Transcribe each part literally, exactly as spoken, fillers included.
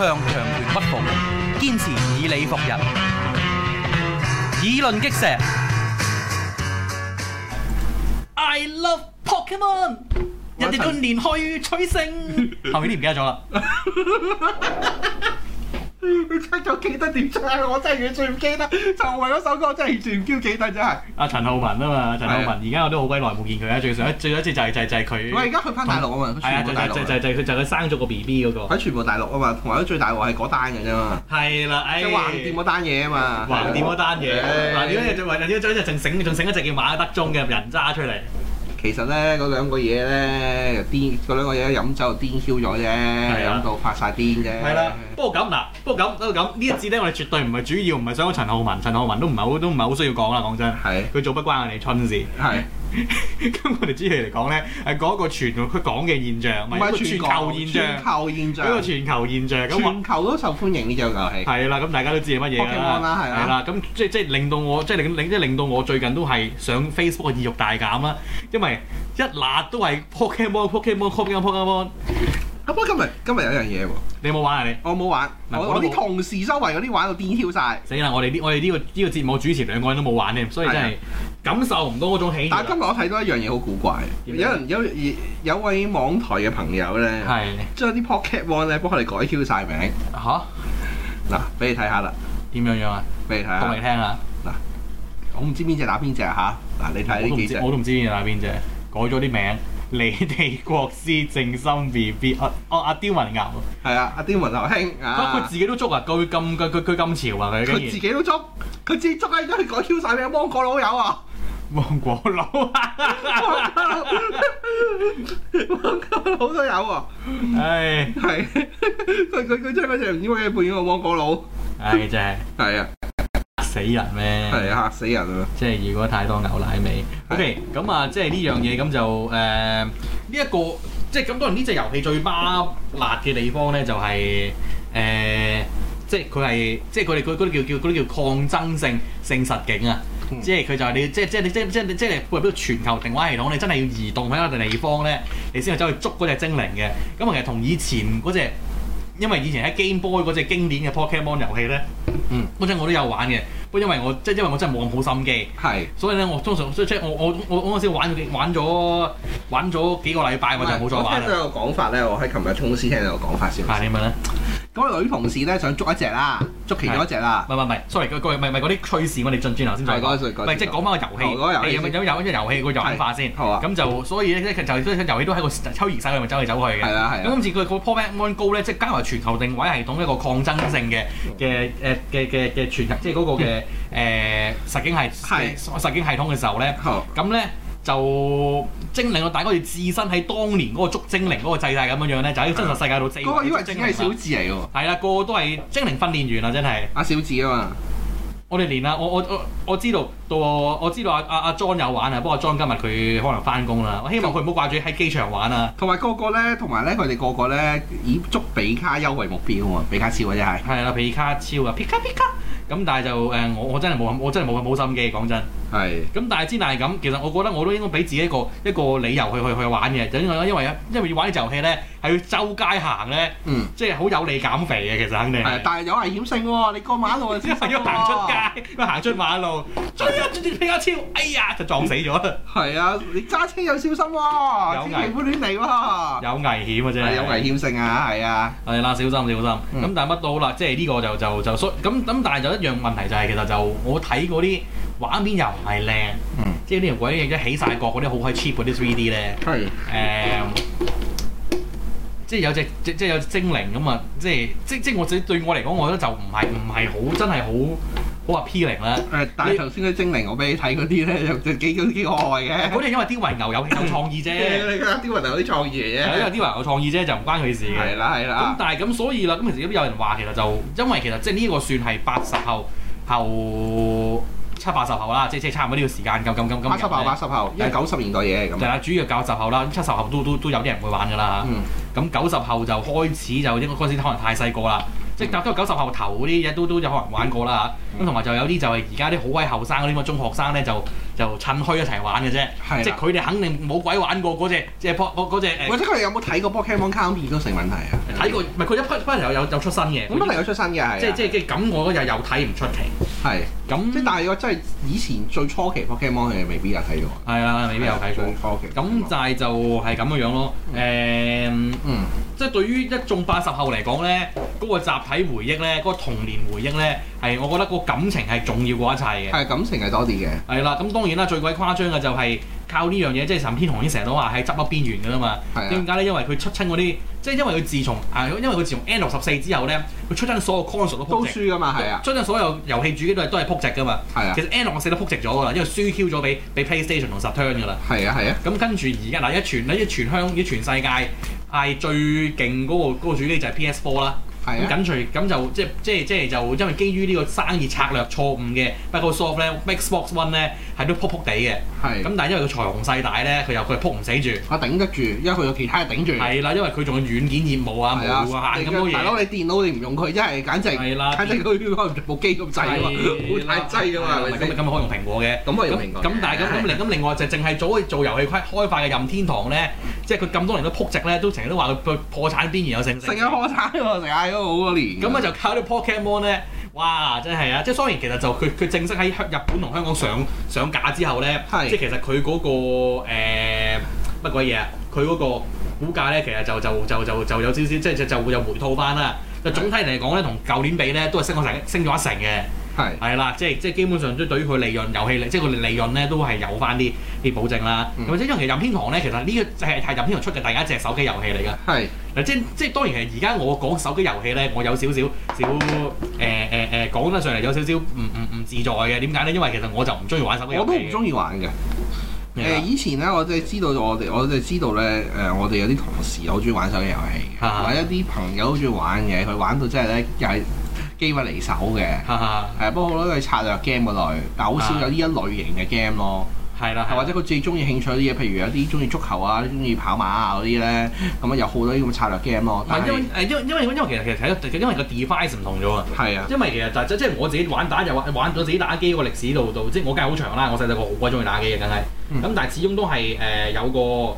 強權屈服，堅持以理服人，議論擊石。I love Pokemon， 人哋都連去取勝，後面啲唔記得咗啦。 你唱咗記得點唱？我真係完全唔記得，就為嗰首歌真係完全唔記得，真係。 阿陳浩民啊嘛，陳浩民而家我都好鬼耐冇見佢啦。最上一最一次就係就係就係佢。 我而家去翻大陸啊嘛， 係啊，就就就就佢就佢生咗個 B B 嗰個。 喺全部大陸啊嘛，同埋都最大鑊係嗰單嘅啫嘛。 係啦，誒。即係橫掂嗰單嘢啊嘛。 橫掂嗰單嘢，橫掂嗰隻仲仲仲仲醒仲醒一隻叫馬德鐘嘅人渣出嚟。 其實咧，嗰兩個嘢咧，又癲，嗰兩個嘢飲酒就癲 Q 咗啫，飲到發晒癲啫。係啦， 不過咁嗱，不過咁不過咁呢一節咧，我哋絕對唔係主要，唔係想講陳浩民，陳浩民都唔係好，都唔係好需要講啦，講真。係。佢做不關我哋春事。係。咁我哋主要嚟講咧，係講一個全佢講嘅現象，唔係一個全球現象。全球現象。一個全球現象。全球都受歡迎呢隻遊戲。係啦，咁大家都知係乜嘢啦。Pokemon 啦，係啦。係啦，咁即即令到我即令令即令到我最近都係上 Facebook 嘅意欲大減啦，因為一辣都係 Pokemon，Pokemon，Pokemon，Pokemon。 不過今日今日有樣嘢喎， 你有冇玩啊你？ 我冇玩，我我啲同事周圍嗰啲玩到癲 Q 晒。死啦！我哋呢我哋呢個呢個節目主持兩個人都冇玩添，所以真係感受唔到嗰種喜悅。但係今日我睇到一樣嘢好古怪，有人有有位網台嘅朋友咧，將啲 Pokemon 咧幫佢哋改 Q 晒名。嚇！嗱，俾你睇下啦。點樣樣啊？俾你睇下。講嚟聽下。嗱，我唔知邊隻打邊隻嚇。嗱，你睇呢幾隻。我都唔知邊隻打邊隻，改咗啲名。你哋國師正心 B B， 啊哦阿刁文牛，係啊阿刁文牛兄啊，佢自己都捉啊，佢咁佢佢佢咁潮啊佢，佢自己都捉，佢自己捉啊，而家佢改 Q 晒名，芒果佬有啊，芒果佬啊，芒果佬都有喎，唉係，佢佢佢將嗰隻唔知乜嘢扮演個芒果佬，唉真係，係啊。死人咩？係啊，嚇死人啊！即係如果太多牛奶味。OK，咁啊，即係呢樣嘢咁就誒呢一個，即係咁當然呢隻遊戲最巴辣嘅地方咧，就係誒，即係佢係即係佢哋嗰嗰啲叫叫嗰啲叫抗爭性性實境啊！嗯、即係佢就係你即係即係你即係即係即係配合到全球定位系統，你真係要移動喺一個地方咧，你先去走去捉嗰隻精靈嘅。咁其實同以前嗰隻。因為以前喺 Game Boy 嗰隻經典嘅 Pokemon 遊戲咧，嗯，嗰陣我都有玩嘅，不過因為我即係因為我真係冇咁好心機，係，所以咧我通常即係我我我我嗰陣時玩玩咗玩咗幾個禮拜我就冇再玩啦。我聽到有個講法咧，我喺琴日公司聽到有個講法先。係點樣咧？嗰個女同事咧想捉一隻啦，捉其中一隻啦。唔係唔係，sorry，嗰個唔係唔係嗰啲趣事，我哋進轉頭先再講。唔係即係講翻個遊戲，有有有一隻遊戲個玩法先。好啊。咁就所以咧，就就遊戲都喺個抽移晒，佢咪走嚟走去嘅。係啦係。咁今次佢個 Pokemon Go 咧，即係加埋全球定位系統一個抗爭性嘅嘅誒嘅嘅嘅全即係嗰個嘅誒實境系實境系統嘅時候咧，咁咧。就精靈，我大家要置身喺當年嗰個捉精靈嗰個制勢咁樣樣咧，就喺真實世界度四圍捉精靈。嗰個以為只係小智嚟㗎喎。係啦，個個都係精靈訓練員啊，真係。阿小智啊嘛。我哋連啊，我我我我知道到我我知道阿阿阿 John 有玩啊，不過 John 今日佢可能翻工啦。我希望佢唔好掛住喺機場玩啊。同埋個個咧，同埋咧，佢哋個個咧以捉比卡優為目標啊，比卡超啊真係。係啦，比卡超啊，皮卡皮卡。咁但係就誒，我我真係冇我真係冇冇心機，講真。係。咁但係之但係咁，其實我覺得我都應該俾自己一個一個理由去去去玩嘅，就因為因為因為要玩呢隻遊戲咧，係要周街行咧，嗯，即係好有利減肥嘅，其實肯定。係，但係有危險性喎，你過馬路就係要行出街，要行出馬路，追啊追住皮卡超，哎呀就撞死咗。係啊，你揸車又小心喎，千祈唔好亂嚟喎。有危險啊真係。有危險性啊，係啊。係啦，小心小心。咁但係乜都好啦，即係呢個就就就所咁咁，但係就一樣問題就係其實就我睇嗰啲畫面又唔係靚，嗯，即係呢條鬼嘢一起晒角嗰啲好閪 cheap 嗰啲 three D 咧，係誒，即係有隻即即係有隻精靈咁啊，即係即即我自己對我嚟講，我覺得就唔係唔係好真係好好 appealing 啦。誒，但係頭先嗰精靈我俾你睇嗰啲咧，就就幾幾幾可愛嘅。嗰啲因為啲雲牛有有創意啫，啲雲牛有啲創意嚟嘅。係因為啲雲牛創意啫，就唔關佢事嘅。係啦係啦。咁但係咁所以啦，咁其實都有人話其實就因為其實即係呢個算係八十後後。七八十後啦，即係即係差唔多呢個時間咁咁咁咁。八十後八十後，因為九十年代嘢咁。係啦，主要九十後啦，七十後都都都有啲人會玩㗎啦。咁九十後就開始就應該嗰陣時可能太細個啦，即係都九十後頭嗰啲嘢都都有可能玩過啦嚇。咁同埋就有啲就係而家啲好鬼後生嗰啲咁嘅中學生咧，就就趁墟一齊玩嘅啫。即係佢哋肯定冇鬼玩過嗰隻即係 po 嗰隻誒。或者佢哋有冇睇過 Pokemon Company 都成問題啊睇過，唔係佢一不不有有有出新嘅， 咁不停有出新嘅係。即係即係即係咁，我覺得又又睇唔出奇。係。咁即係但係我真係以前最初期 Pokemon 係未必有睇過。係啊，未必有睇過。 最初期。 咁就係就係咁嘅樣咯。誒，嗯。即係對於一眾八十後嚟講咧，嗰個集體回憶咧，嗰個童年回憶咧，係我覺得個感情係重要過一切嘅。 係感情係多啲嘅。係啦，咁當然啦，最鬼誇張嘅就係靠呢樣嘢，即係任天堂已經成日都話喺執笠邊緣㗎啦嘛。點解咧？因為佢出親嗰啲，即係因為佢自從啊，因為佢自從 N 六十四之後咧，佢出親所有 console 都撲直。 都輸㗎嘛，係啊。 出親所有遊戲主機都係都係撲直㗎嘛。係啊。其實 N 六十四都撲直咗㗎啦，因為輸 Q 咗俾俾 PlayStation 同 Saturn 㗎啦。 係啊係啊。 咁跟住而家嗱一全一全香一全世界係最勁嗰個嗰個主機就係 P S 四 啦。咁緊隨咁就即即即就因為基於呢個生意策略錯誤嘅 Microsoft 咧 ，Xbox One 咧係都撲撲地嘅。係。咁但係因為佢財雄勢大咧，佢又佢係撲唔死住。我頂得住，因為佢有其他嘢頂住。係啦，因為佢仲有軟件業務啊，無限咁多嘢。大佬你電腦你唔用佢，真係簡直係啦，簡直佢可能部機咁滯啊嘛，好大劑㗎嘛。咁咁咪可以用蘋果嘅。咁可以用蘋果。咁但係咁咁另咁另外就淨係做做遊戲開開發嘅任天堂咧，即係佢咁多年都撲直咧，都成日都話佢破產邊緣有成成。成日破產喎，成日都好多年。咁啊就靠啲 Pokemon 咧，哇！真係啊！即係雖然其實就佢佢正式喺日本同香港上上架之後咧，即係其實佢嗰、嗰個誒乜鬼嘢啊？佢嗰個股價咧，其實就就就就就有少少，即係就就會有回吐翻啦。就總體嚟講咧，同舊年比咧，都係升咗成升咗一成嘅。係係啦，即係即係基本上都對於佢利潤遊戲利，即係佢利潤咧都係有翻啲啲保證啦。咁即係因為其實任天堂咧，其實呢個係係任天堂出嘅第一隻手機遊戲嚟㗎。係嗱，即即係當然係而家我講手機遊戲咧，我有少少少誒誒誒講得上嚟有少少唔唔唔自在嘅。點解咧？因為其實我就唔中意玩手機遊戲。我都唔中意玩嘅。誒、呃、以前咧，我哋知道我哋，我哋知道咧，誒、呃、我哋有啲同事好中意玩手機遊戲嘅，或者啲朋友好中意玩嘅，佢玩到真係咧又係機不離手嘅，係啊、呃，不過好多都係策略 game 嗰類，但係好少有呢一類型嘅 game 咯。係啦，或者佢自己中意興趣啲嘢，譬如有啲中意足球啊，中意跑馬啊嗰啲咧，咁啊有好多啲咁嘅策略 game 咯。但係因為誒，因為因為因為其實其實睇因為個 device 唔同咗啊。係啊。因為其實就即、是、係我自己玩打又玩玩咗自己打機個歷史度度，即係我梗係好長啦。我細細個好鬼中意打機嘅，梗係。咁、嗯、但係始終都係誒、呃、有個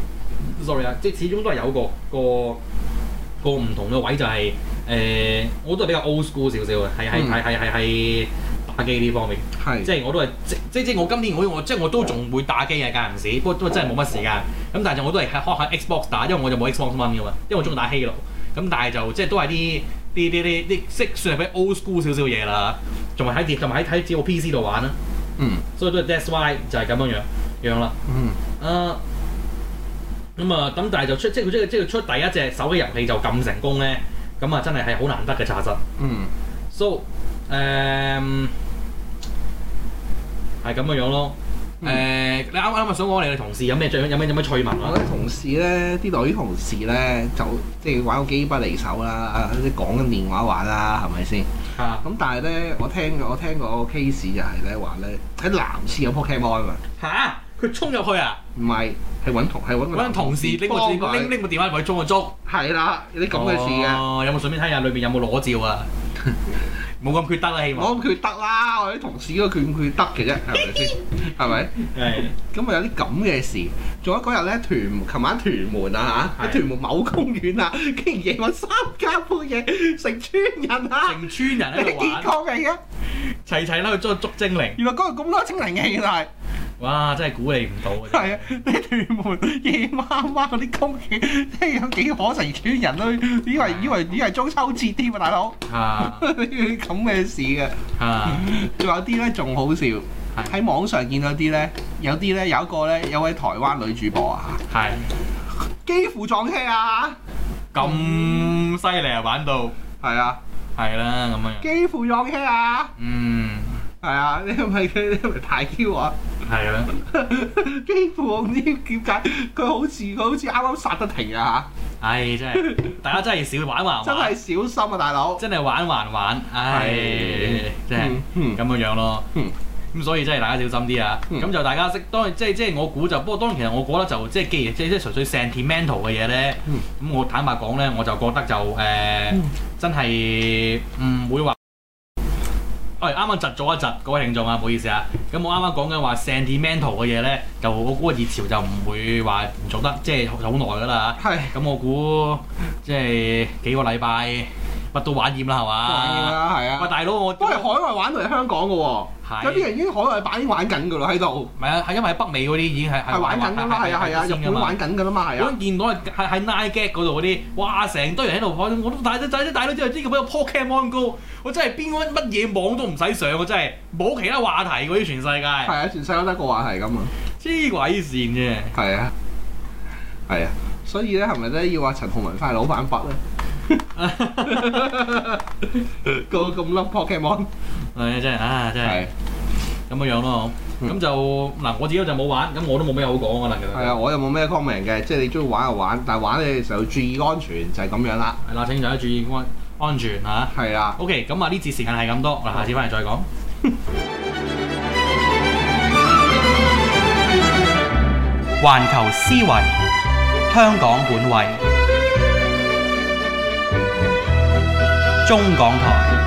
，sorry 啊，即係始終都係有個個個唔同嘅位就係、是、誒、呃，我都係比較 old school 少少嘅，係係係係係係。打機呢方面，係即係我都係即即即我今年我我即係我都仲會打機嘅間唔時，不過都真係冇乜時間。咁但係就我都係開開 Xbox 打，因為我就冇 Xbox One 噶嘛，因為我中意打 Halo。咁但係就即係都係啲啲啲啲啲即算係比較 old school 少少嘢啦。仲係喺電，仲係喺喺自己 P C 度玩啦。嗯，所以都係 that's why 就係咁樣樣樣啦。嗯，啊咁啊咁，但係就出即係佢即係即係出第一隻手機遊戲就咁成功咧，咁啊真係係好難得嘅查實。嗯 ，so 誒、um,，係咁嘅樣咯。誒、嗯呃，你啱啱咪想講你哋同事有咩最有咩有咩趣聞啊？我啲同事咧，啲女同事咧，就即係玩個機不離手啦，啲講緊電話玩啦，係咪先？啊！咁但係咧，我聽我聽個 case 就係咧話咧，喺男廁有 Pokemon 啊嘛。嚇！佢衝入去啊？唔係，係揾同係揾揾同事拎個拎拎個電話入去捉個捉。係啦，有啲咁嘅事嘅。哦，有冇順便睇下裏邊有冇裸照啊？冇咁缺德啦，希望。冇咁缺德啦，我啲同事嗰個缺唔缺德嘅啫，係咪先？係咪？係。咁啊有啲咁嘅事，仲有嗰日咧屯，琴晚屯門啊嚇，喺屯門某公園啊，竟然夜晚三更半夜成村人啊，成村人喺度玩。幾個嚟嘅？齊齊啦去捉捉精靈。原來嗰度咁多精靈嘅原來。哇！真係估你唔到啊！係啊，你屯門夜媽媽嗰啲公園，即係有幾可成村人都以為以為以為中秋節添啊，大佬！啊！呢啲咁嘅事嘅啊，仲有啲咧仲好笑，喺網上見到啲咧，有啲咧有一個咧有位台灣女主播啊，係幾乎撞車啊！咁犀利啊，玩到係啊，係啦咁樣，幾乎撞車啊！嗯。係啊，你係咪佢？你係咪太 Q 啊？係啊，幾乎我唔知點解佢好似佢好似啱啱剎得停啊嚇！唉，真係大家真係少玩還玩，真係小心啊，大佬！真係玩還玩，唉，真係咁嘅樣咯。咁所以真係大家小心啲啊！咁就大家識當然即係即係我估就，不過當然其實我覺得就即係既然即係即係純粹 sentimental 嘅嘢咧，咁我坦白講咧，我就覺得就誒真係唔會話。 喂，啱啱窒咗一窒，各位聽眾啊，唔好意思啊。咁我啱啱講緊話 sentimental 嘅嘢咧，就我估個熱潮就唔會話唔做得，即係好耐㗎啦。係。咁我估即係幾個禮拜乜都玩厭啦，係嘛？ 玩厭啦，係啊。 喂，大佬，我都係海外玩到嚟香港㗎喎。有啲人已經海外版已經玩緊㗎啦喺度。 唔係啊，係因為喺北美嗰啲已經係係玩緊㗎嘛，係啊係啊，日本玩緊㗎啦嘛，係啊。 我見到係係喺 Nine Gag 嗰度嗰啲，哇！成堆人喺度開，我都大咗大咗大咗之後，呢個俾個 Pokemon Go，我真係邊個乜嘢網都唔使上，我真係冇其他話題嗰啲全世界。係啊，全世界得一個話題咁啊！黐鬼線啫。係啊， 係啊，所以咧係咪咧要話陳浩文翻嚟攞翻筆咧？個咁粒 Pokemon， 係啊，真係啊，真係咁嘅樣咯。咁、嗯、就嗱，我自己就冇玩，咁我都冇咩好講㗎啦。其實係啊， 我又冇咩 comment 嘅，即係你中意玩就玩，但係玩嘅時候注意安全就係、是、咁樣啦。 係啦，請大家注意安安全嚇。係啊。OK，咁啊呢節時間係咁多，嗱下次翻嚟再講。環球思維，香港本位，中港台。